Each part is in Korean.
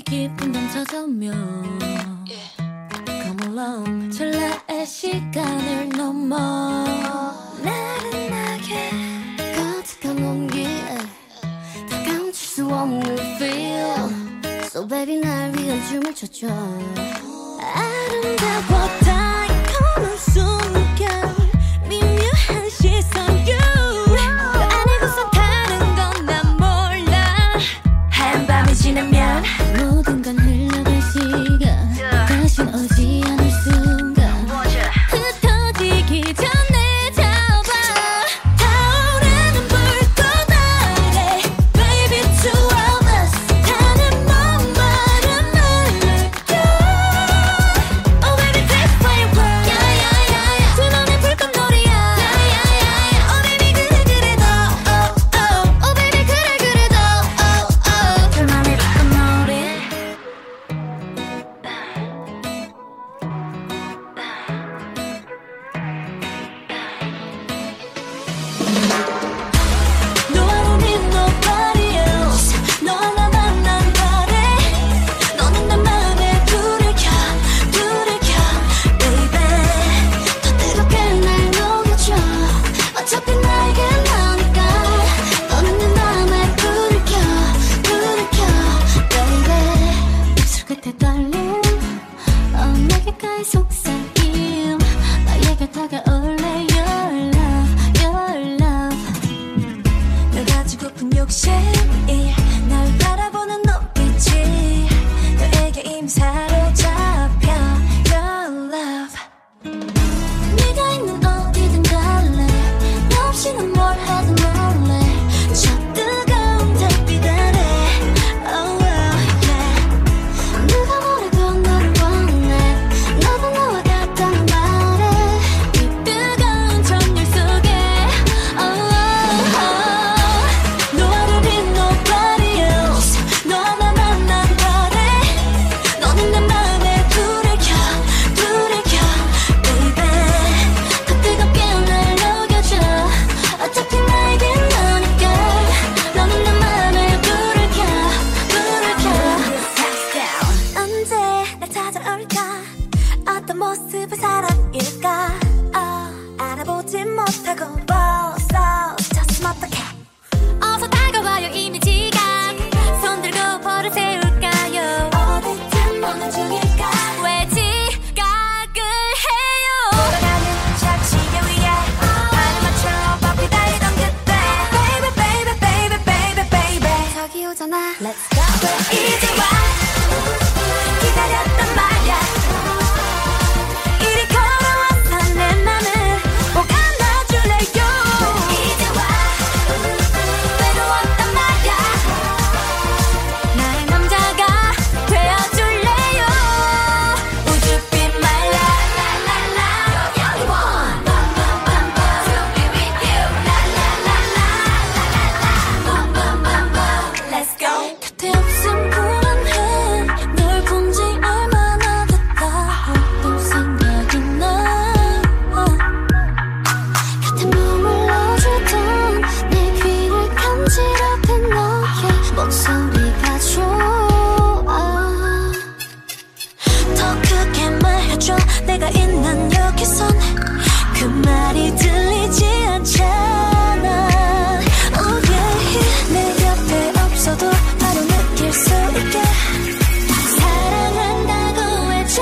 깊은 밤 찾아오면 Come along 찰나의 시간을 넘어 나른하게 가득한 온기에 다 감출 수 없는 feel So baby 날 위한 춤을 춰줘 아름다워 달콤한 순간 미묘한 시선 you 그 안에서 다른 건 난 몰라 한밤이 지나면 모든 건 흘러갈 시간 다신 오지 않을 순간 흩어지기 전에 잡아 타오르는 불꽃 아래 Baby two of us 나는 목마른 물결 Oh baby that's why you burn 두 눈에 불꽃놀이야 Oh baby 그래 그래 너 Oh baby 그래 그래 너 둘만의 불꽃놀이 No I don't need nobody else 너 하나만 난 바래 너는 내 맘에 불을 켜 Baby 더 뜨겁게 날 녹여줘 어차피 나에겐 너니까 너는 내 맘에 불을 켜 Baby 입술 끝에 떨림 내 귓가에 속삭임 나에게 다가올래 Your love 널 가지고픈 욕심이 날 바라보는 눈빛이 너에게 이미 사로잡혀 Your love 네가 있는 어디든 갈래 너 없이는 뭘 해도 몰래 저 뜨거운 달빛 아래 Oh yeah 누가 뭐래도 너를 원해 너도 너와 같다는 말에 이 뜨거운 정열 속에 No I don't need nobody else 너 하나만 난 바래 너는 내 맘에 불을 켜 Baby 더 뜨겁게 날 녹여줘 어차피 나에겐 너니까 너는 내 맘에 불을 켜 언제 날 찾아올까 어떤 모습의 사랑일까 알아보지 못하고 벌써 스쳤으면 어떡해 어서 다가와요 이미지가 손 들고 벌을 세울까요 어디쯤 오는 중일까 왜 지각을 해요 돌아가는 착시계 위에 나를 맞춰 바삐 달리던 그때 Baby 저기 오잖아 Let's go 이제 와 기다렸단 말야 이리 걸어와서 내 맘을 꼭 안아줄래요 이제 와 외로웠단 말야 나의 남자가 되어줄래요 우주빛 말라 You're the one to be with you Let's go 곁에 없음 불안해 널 본 지 얼마나 됐다고 또 생각이 나 곁에 머물러주던 내 귀를 간지럽힌 너의 목소리가 좋아 더 크게 말해줘 내가 있는 여기선 그 말이 들리지 않잖아 Oh yeah 내 곁에 없어도 바로 느낄 수 있게 사랑한다고 해줘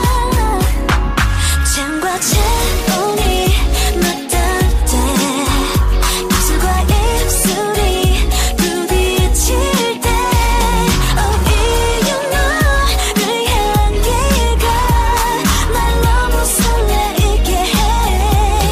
창과 채온이 맞닿을 때 입술과 입술이 부딪힐 때 Oh 이유 너를 향기가 날 너무 설레게 해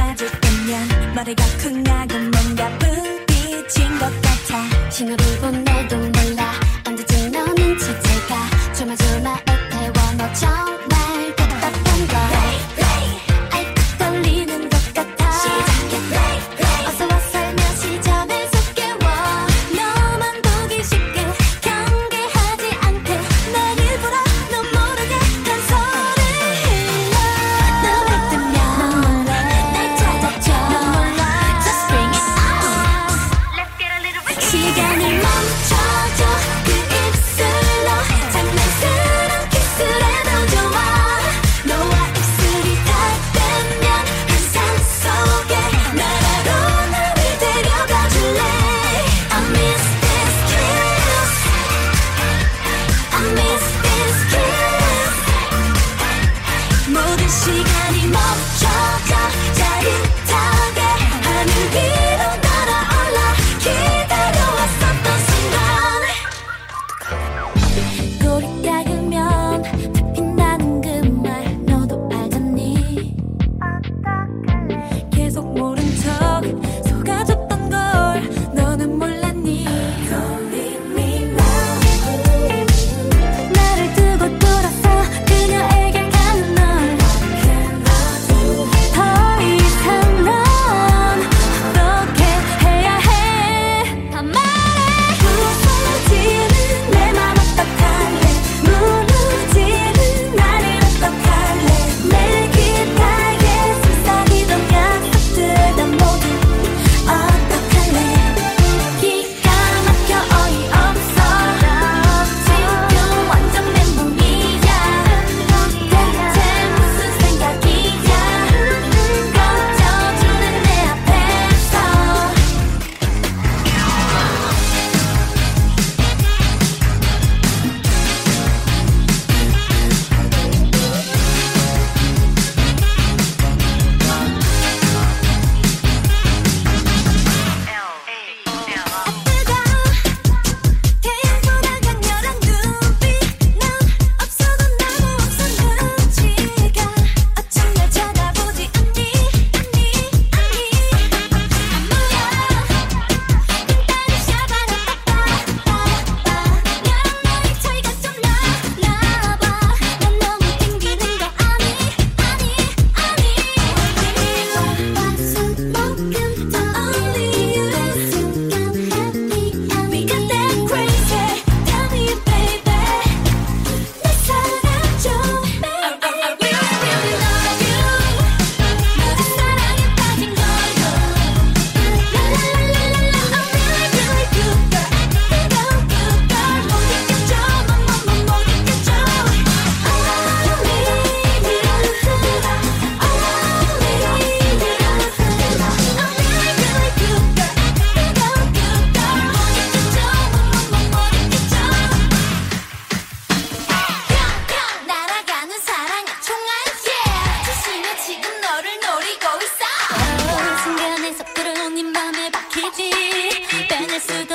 맞을 때면 머리가 쿵하고 뭔가 부딪힌 것 같아. 신호를 보내도 몰라 언제쯤 너 눈치채가 조마조마해 태워 너 정말 답답한 걸 아이고 떨리는 것 같아. 어서 와 살며시 잠에 속 깨워 너만 보기 쉽게 경계하지 않게 날 일부러 너 모르게 단서를 흘러. 너 믿으면 날 찾아줘. Just bring it on. Let's get a little bit. 시간을 멈춰줘. 그 입술로 장난스러운 키스를 해도 좋아. 너와 입술이 닿으면 환상 속에 나라로 나를 데려가 줄래. I miss this kiss. I miss this kiss. 모든 시간이 멈춰져. 짜릿하게 하늘 위로 날아올라. 기다려왔었던 순간. 꼴이 작으면 잡힌다는 그 말 너도 알잖니. 계속 모른 척 속아줬던 걸 너는 몰랐니. Don't leave me now. 나를 두고 돌아서 그녀에게 가는 널. 더 이상 넌 어떻게 해야 해. 다 말해. 부서지는 내 맘 어떡할래. 무너지는 나를 어떡할래. 내 귓가에 속삭이던 약속들 다 모두 어떡할래. 기가 막혀 어이없어. 지금 완전 멘붕이야. 대체 무슨 생각이야. 꺼져주는 내 앞에서. 태양보다 강렬한 눈빛. 넌 없어도 나도 없어 눈치가. 어쩜 날 쳐다보지 않니. 안 보여. 빈다리 샤바라 빠빠빠빠. 나랑 너의 차이가 좀 나봐. 난 너무 땡기는 거 아니. 숨만큼 더 only you. 내 순간 happy. We got that crazy. Tell me baby. 날 사랑해줘. I really love you. 모든 사랑에 빠진 걸로. 라라라라라. I'm really good girl. good girl. 못 이겨줘. 못 이겨줘. Only you. Only you. I'm really good girl. good girl. 못 이겨줘. 못 이겨줘. 평평 날아가는 사랑의 총알 yeah. 조심해 지금 너를 노리고 있어. 순간에 속 들어온 네 맘에 박히지. 빼낼 수도